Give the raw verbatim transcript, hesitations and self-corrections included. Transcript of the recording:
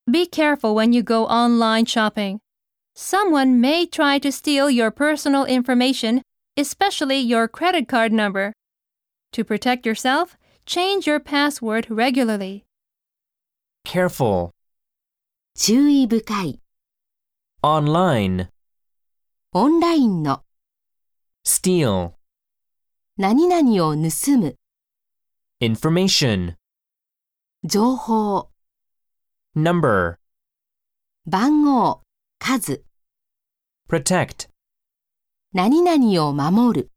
Be careful when you go online shopping. Someone may try to steal your personal information, especially your credit card number. To protect yourself, change your password regularly. Careful. 注意深い。 Online. オンラインの。 Steal. 何々を盗む。 Information. 情報。 Number. 番号。数。 Protect. 何々を守る。